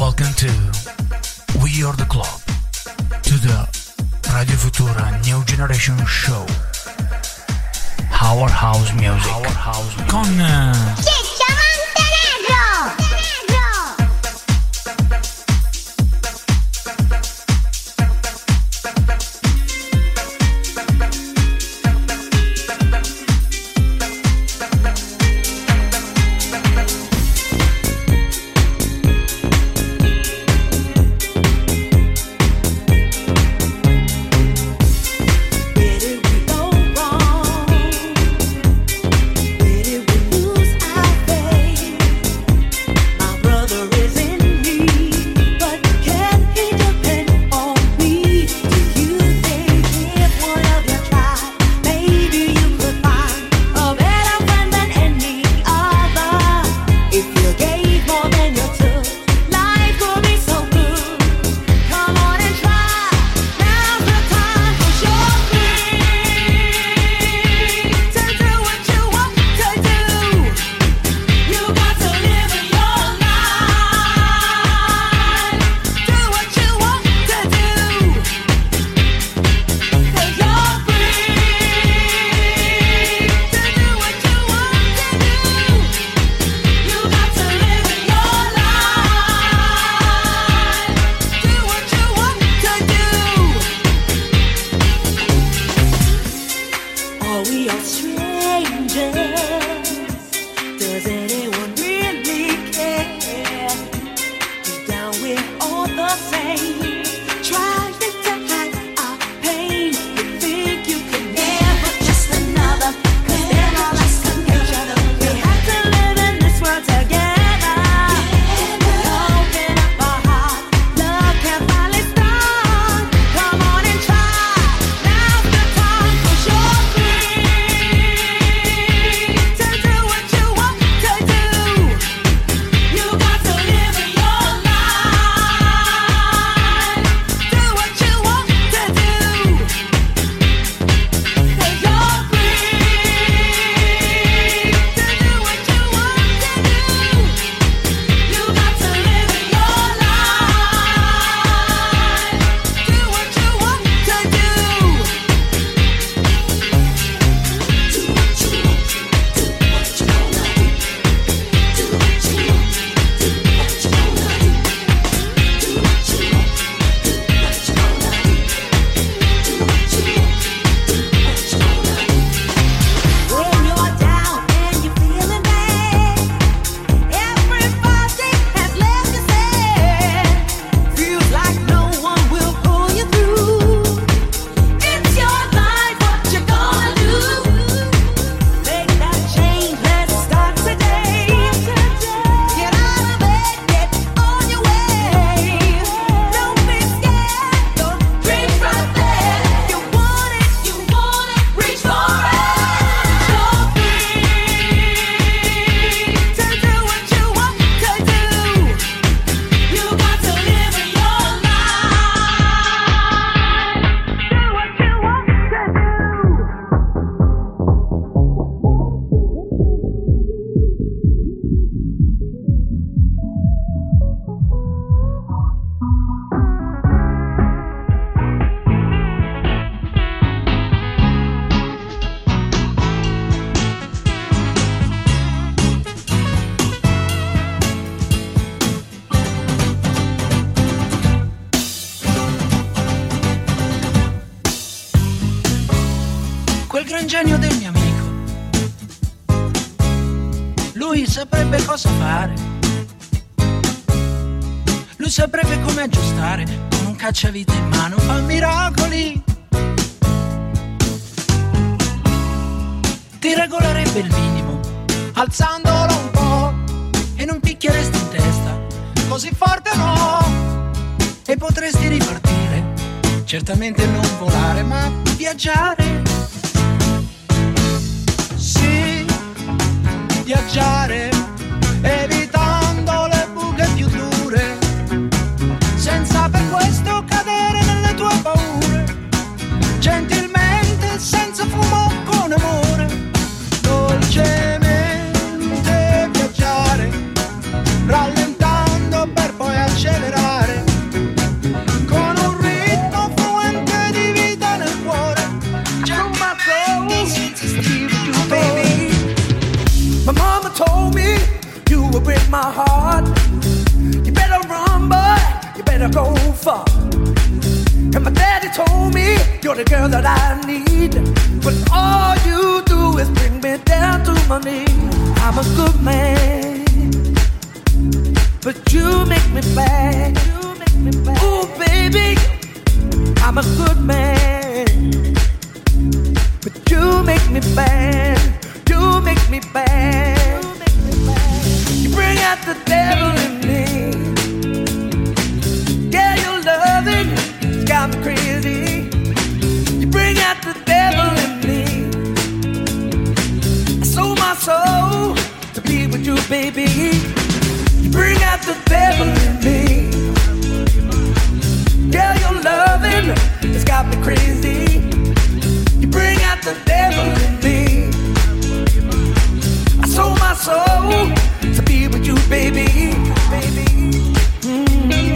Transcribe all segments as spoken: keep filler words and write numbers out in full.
Welcome to We Are The Club, to the Radio Futura New Generation Show. Our House Music. Our House Music. Con... Uh... Ciccio Montenegro! Genio del mio amico, lui saprebbe cosa fare, lui saprebbe come aggiustare, con un cacciavite in mano fa miracoli, ti regolerebbe il minimo alzandolo un po' e non picchieresti in testa così forte no, e potresti ripartire, certamente non volare ma viaggiare. Viaggiare, evitando le buche più dure, senza per questo cadere nelle tue paure, gentilmente, senza fumo, con amore, dolcemente viaggiare, rallentando per poi accedere break my heart. You better run, boy, you better go far. And my daddy told me you're the girl that I need, but all you do is bring me down to my knees. I'm a good man, but you make me bad. Ooh, baby, I'm a good man, but you make me bad. You make me bad. You bring out the devil in me. Yeah, your loving it's got me crazy. You bring out the devil in me. I sold my soul to be with you, baby. You bring out the devil in me. Yeah, your loving it's got me crazy. You bring out the devil in me. I sold my soul to be with you, baby, baby. Mm-hmm.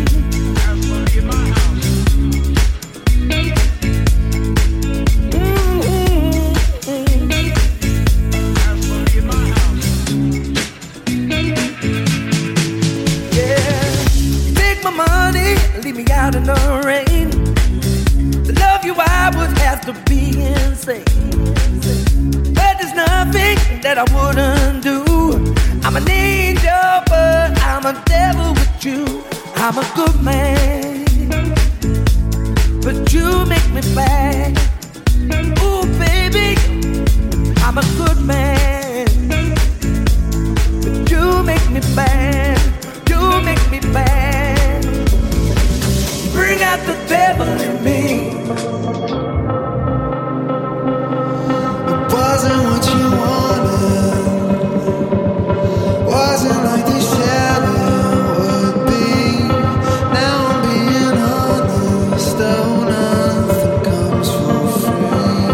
Leave me out in the rain. To love you I would have to be insane, but there's nothing that I wouldn't do. I'm an angel but I'm a devil with you. I'm a good man, but you make me bad. Ooh baby, I'm a good man, but you make me bad. You make me bad. Bring out the devil in me. It wasn't what you wanted. Wasn't like they said it would be. Now I'm being honest. Oh, nothing comes for free.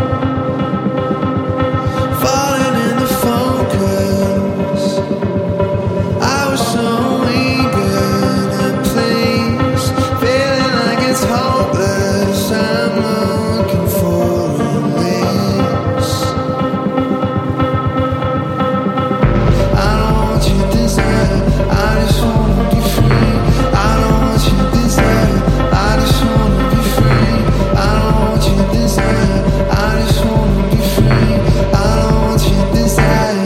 Falling into focus. I was so eager to please. It's hopeless, I'm looking for a release. I don't want your desire, I just wanna be free. I don't want your desire, I just wanna be free. I don't want your desire, I just wanna be free. I don't want your desire.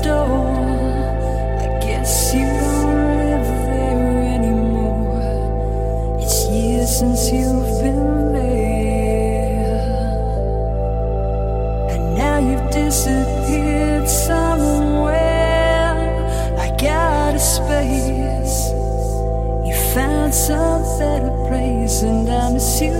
door. I guess you don't live there anymore. It's years since you've been there, and now you've disappeared somewhere. I got a space, you found some better place, and I miss you.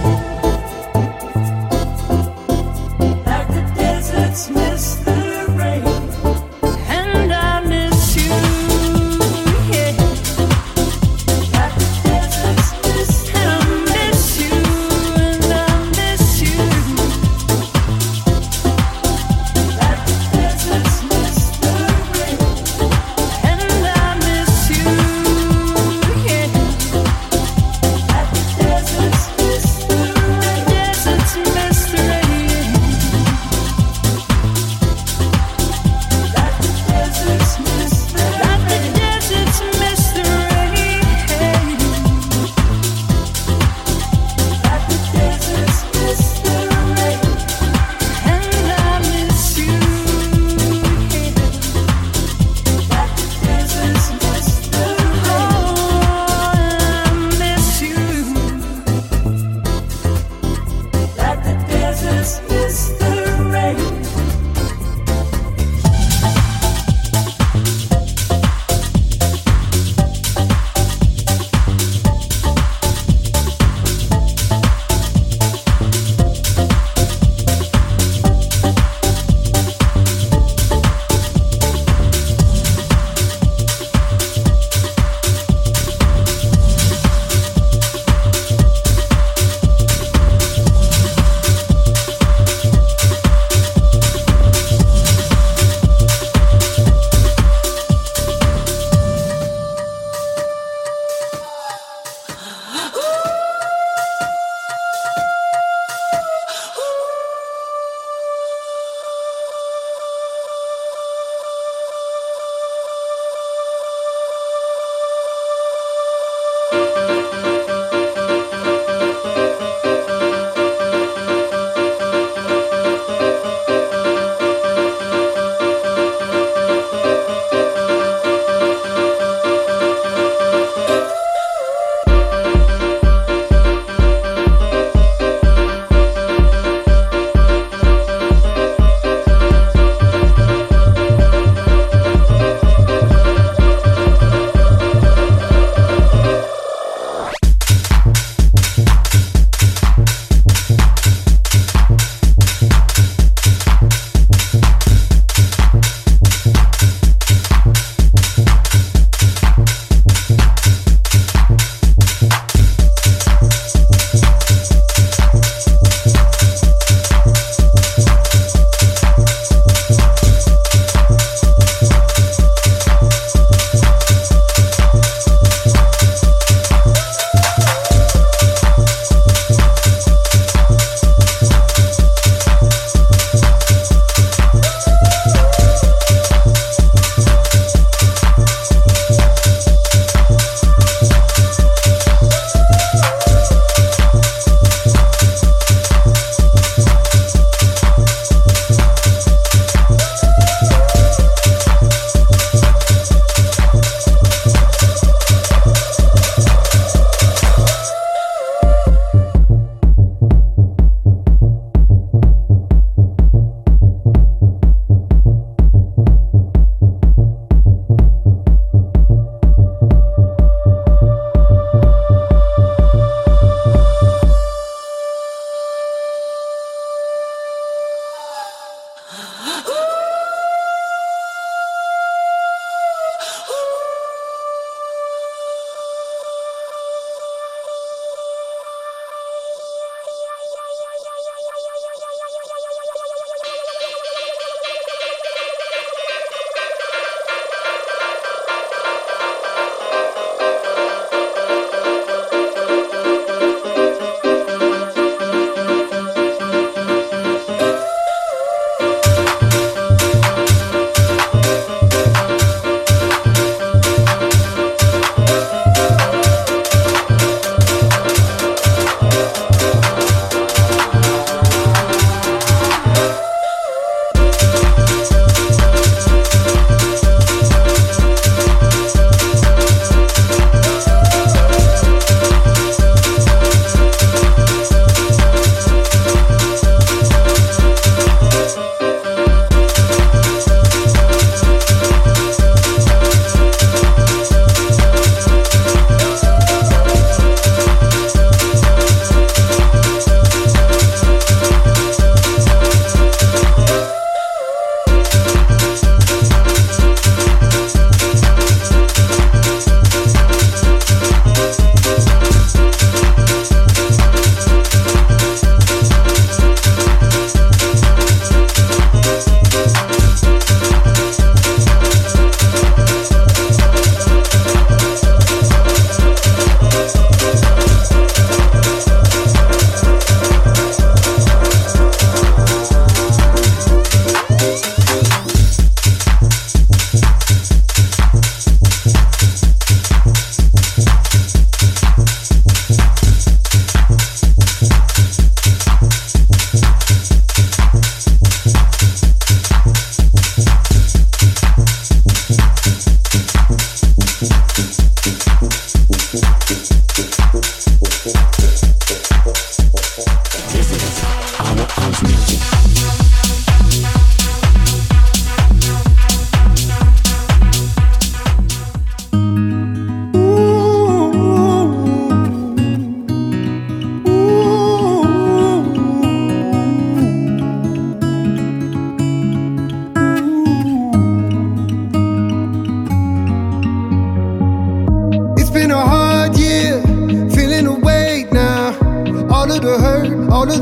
Miss the rain, and I miss you, yeah. Like the deserts miss the rain, I miss you, and I miss you. Like the deserts miss the rain, and I miss you, yeah. Like the deserts miss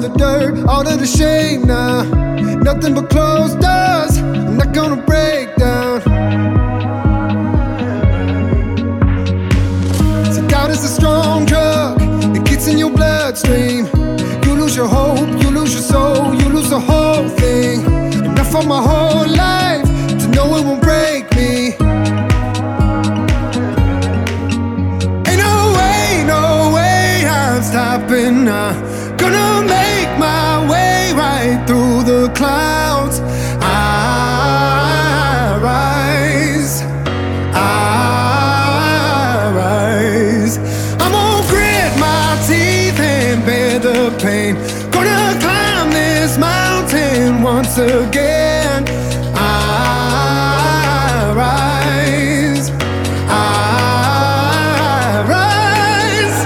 the dirt, all of the shame now. Nothing but closed doors, I'm not gonna break down. See, doubt is a strong drug, it gets in your bloodstream. You lose your hope, you lose your soul, you lose the whole thing. Enough of my whole life to know it won't break me. Ain't no way, no way I'm stopping now. Gonna make my way right through the clouds. I rise, I rise. I'm gonna grit my teeth and bear the pain. Gonna climb this mountain once again. I rise, I rise.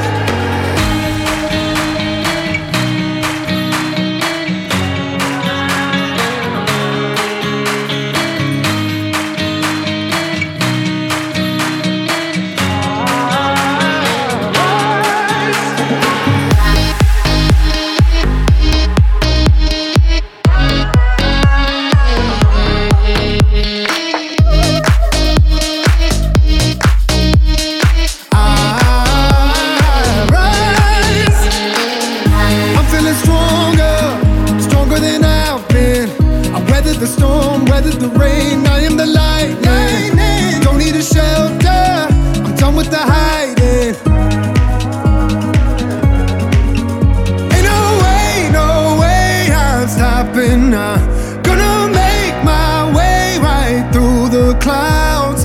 The storm, weathered the rain, I am the lightning. Don't need a shelter, I'm done with the hiding. Ain't no way, no way I'm stopping now. Gonna make my way right through the clouds.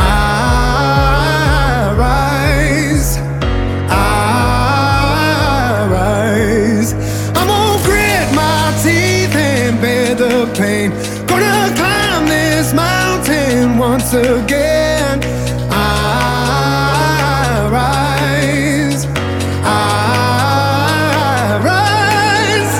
I rise, I rise. I'm gonna grit my teeth and bear the pain. Gonna climb this mountain once again. I rise, I rise.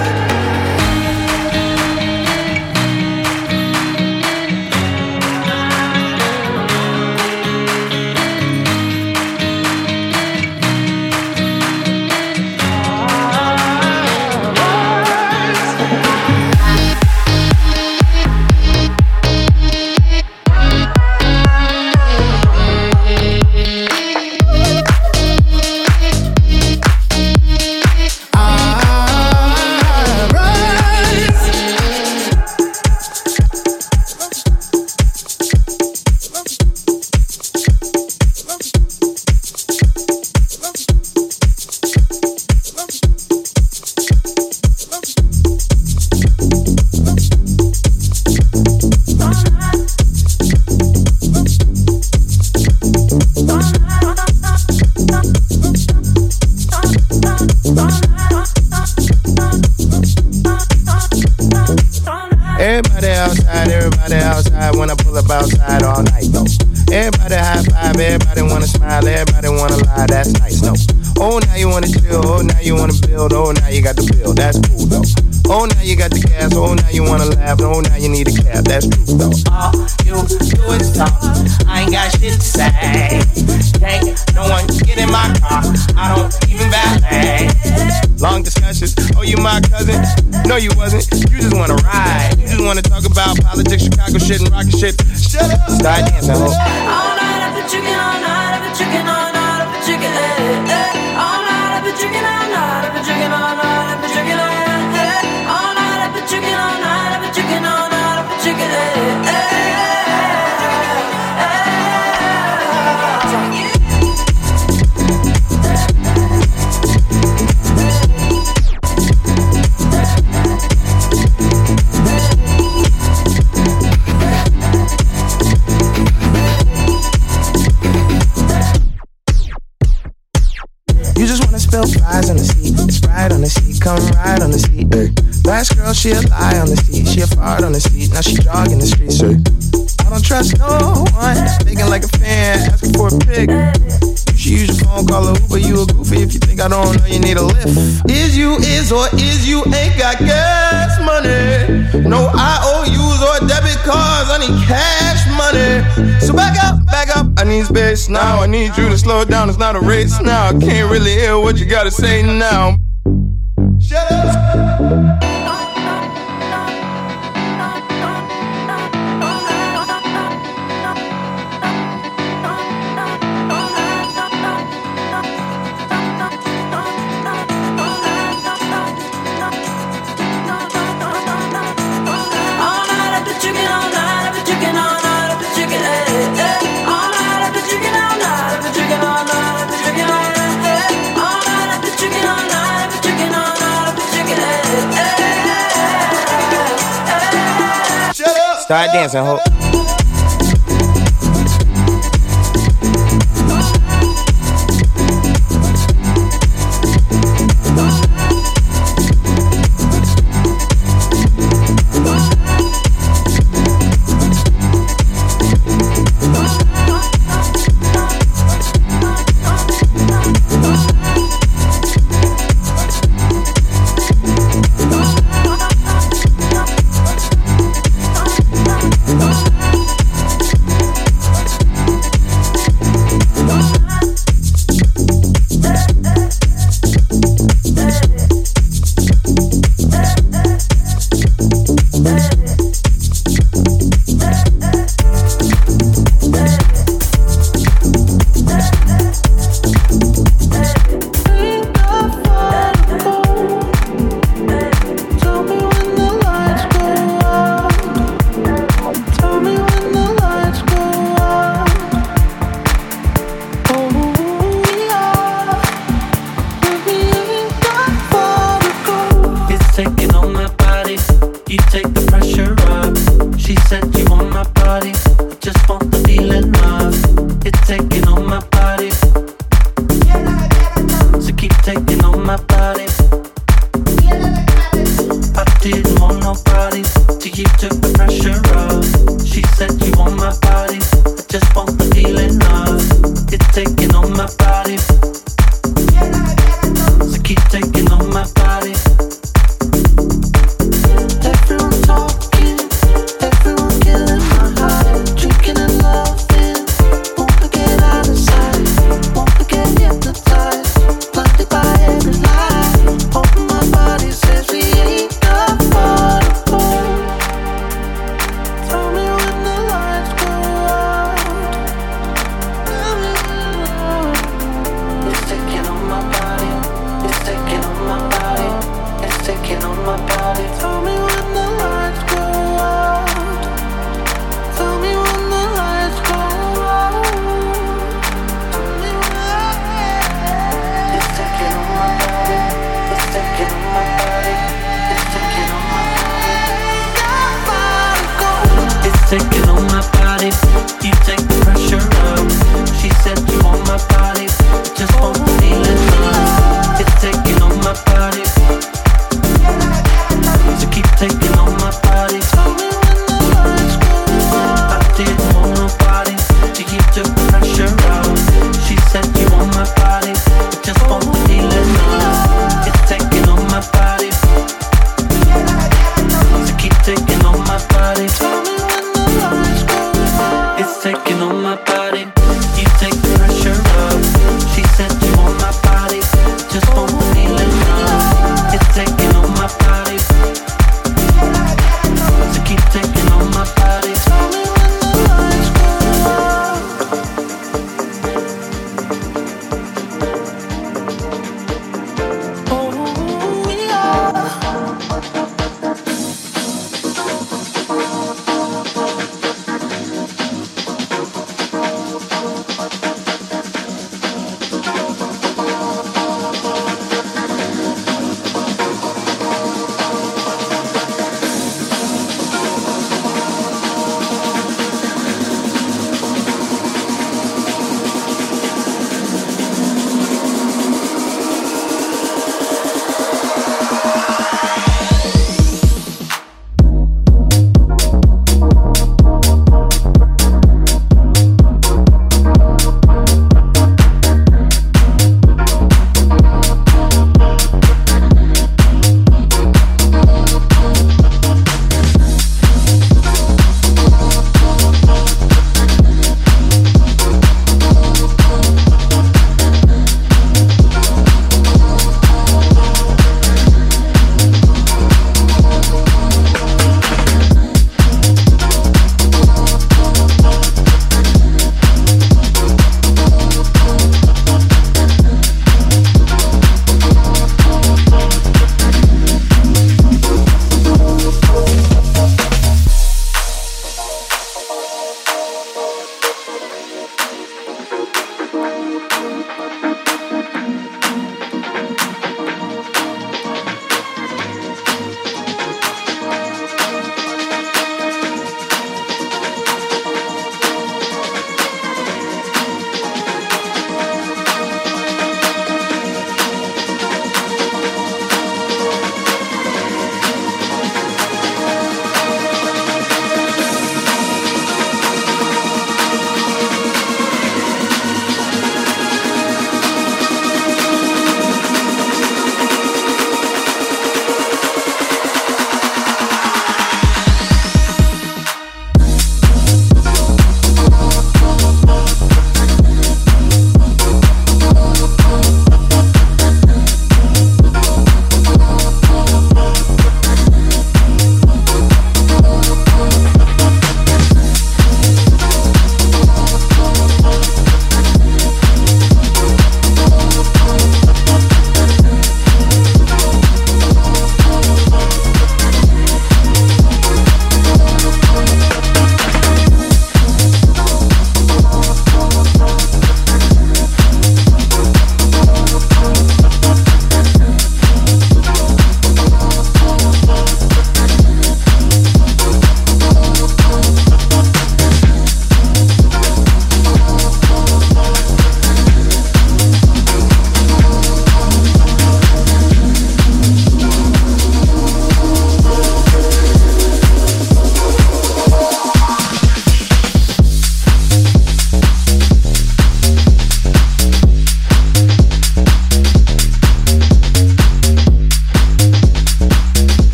Everybody outside, everybody outside. When I pull up outside all night, though. Everybody high five, everybody wanna smile, everybody wanna lie, that's nice, no. Oh, now you wanna chill, oh, now you wanna build, oh, now you got the bill, that's cool, though. Oh, now you got the gas, oh, now you wanna laugh, oh, now you need a cab, that's true, though. All you do is talk, I ain't got shit to say. Can't no one get in my car, I don't even valet. Long discussions, oh, you my cousin? No, you wasn't, you just wanna ride. You just wanna talk about politics, Chicago shit, and rocket shit. Shut up! Start dancing, ho. All night I've been drinking, all night I've been drinking, all night I've been drinking, eh, eh. All night I've been drinking, all night I've been drinking, all night I've been drinking, eh, eh. All night I've been drinking, all night I've been drinking, all night I've been drinking, eh, eh. You just wanna spill fries on the seat, Sprite on the seat, come ride on the seat, ay. Last girl, she a lie on the seat, she a fart on the seat, now she jogging the streets, ay. I don't trust no one, thinking like a fan, asking for a pic. You should use your phone, call a Uber, you a goofy if you think I don't know you need a lift. Is you is or is you ain't got gas money? No I O Us or debit cards, I need cash money. So back up, back up, I need space now, I need you to slow down, it's not a race now. I can't really hear what you gotta say now. Start dancing, ho.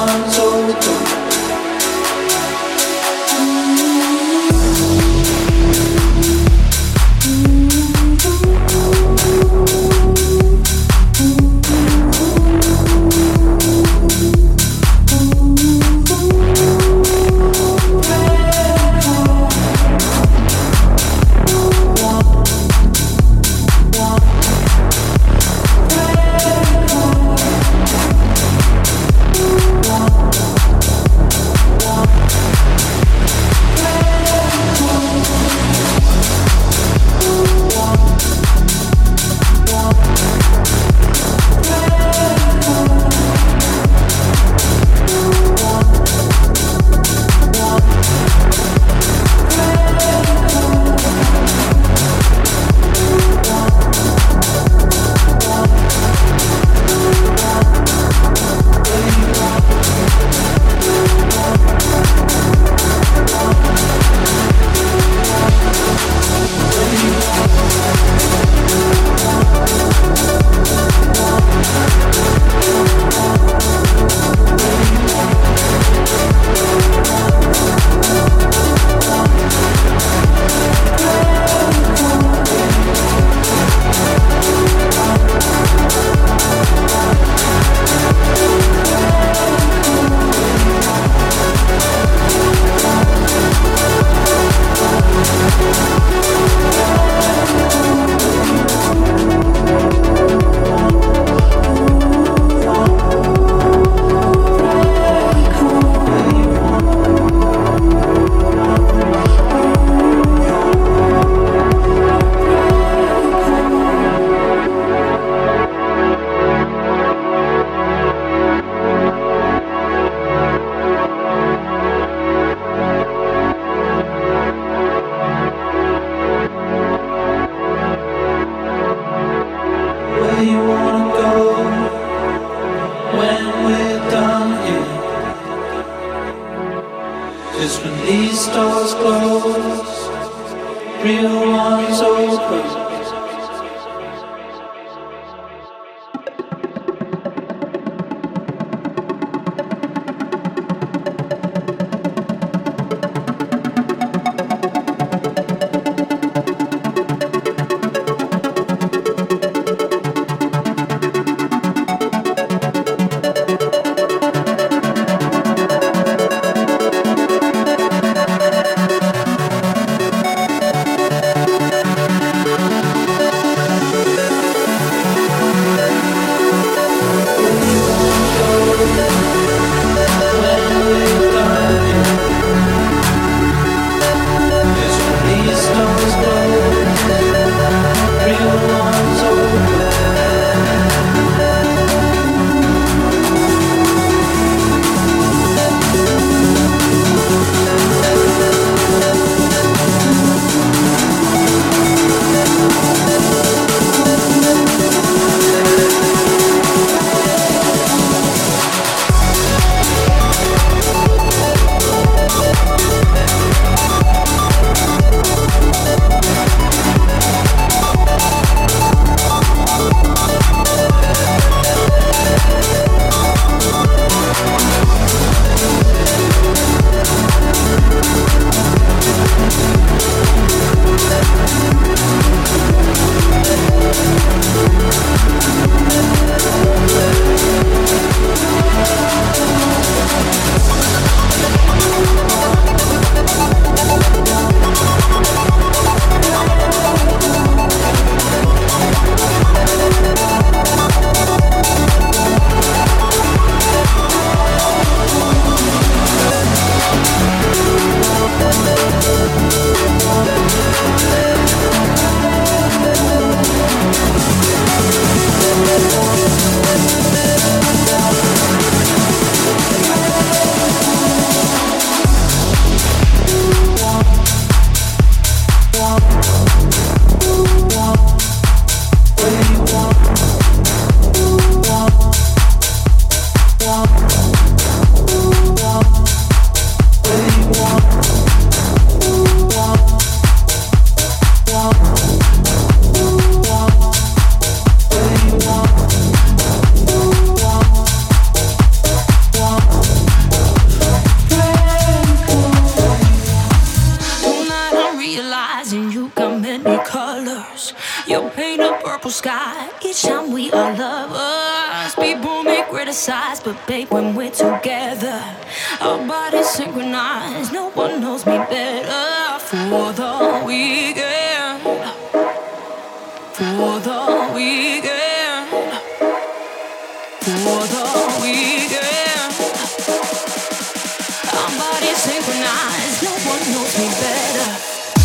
one's open. sky. Each time we are lovers, people may criticize, but babe, when we're together, our bodies synchronized. No one knows me better. For the weekend, for the weekend, for the weekend, our bodies synchronized. No one knows me better.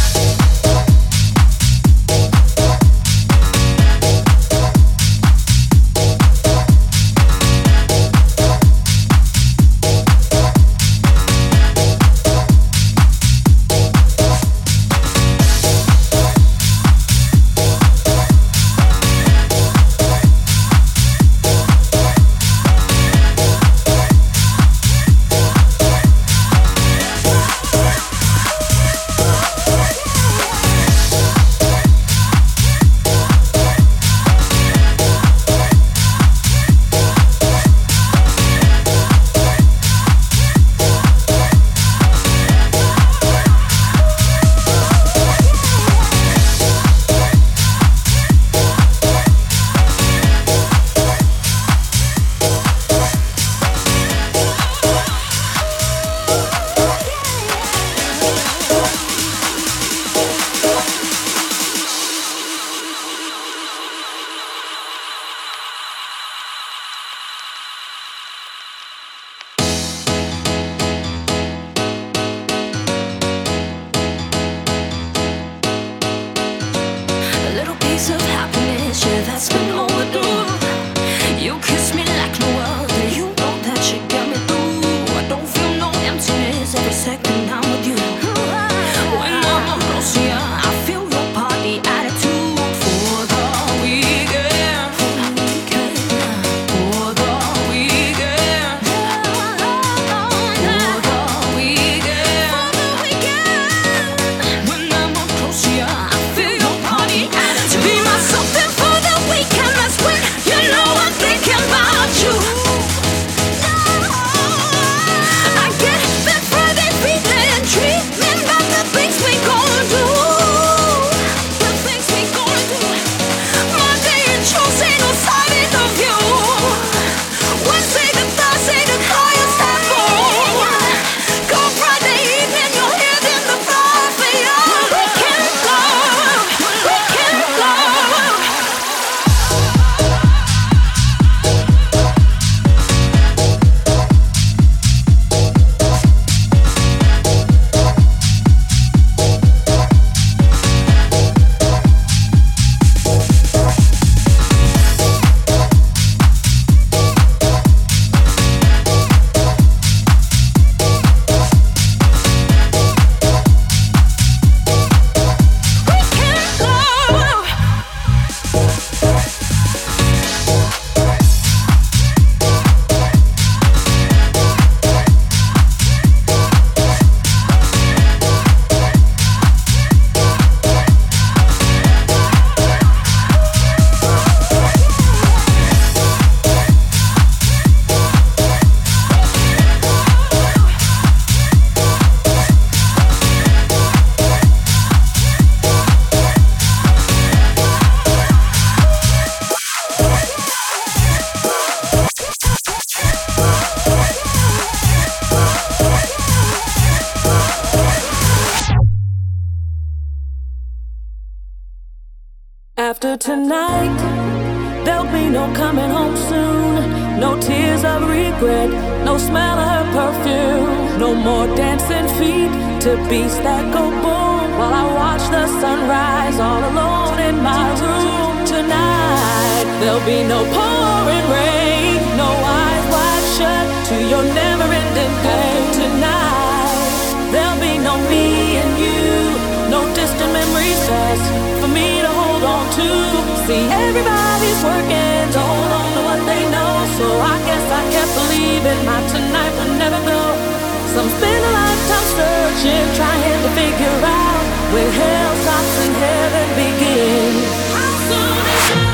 After tonight, there'll be no coming home soon. No tears of regret, no smell of her perfume. No more dancing feet to beats that go boom. While I watch the sunrise all alone in my room. Tonight, there'll be no pouring rain. No eyes wide shut to your never-ending pain. Tonight, there'll be no me and you. No distant memories past for me to hold on to. See, everybody's working to hold on to what they know. So I guess I kept believing my tonight would never go. Some spend a lifetime searching, trying to figure out where hell stops and heaven begins. How soon is it?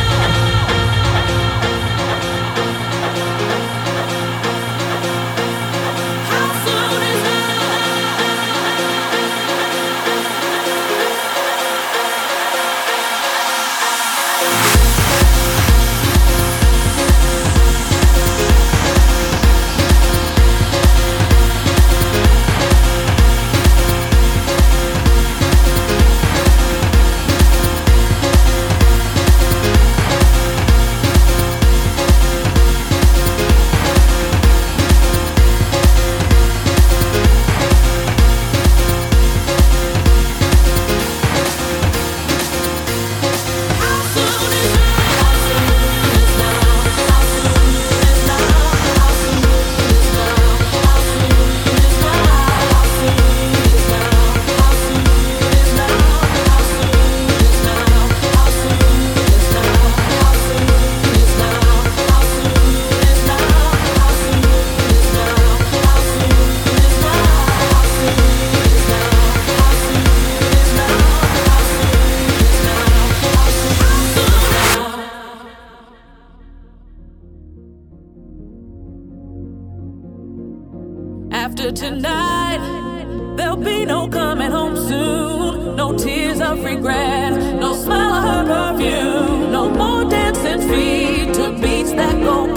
After tonight, there'll be no coming home soon. No tears of regret, no smell of her perfume. No more dancing feet to beats that go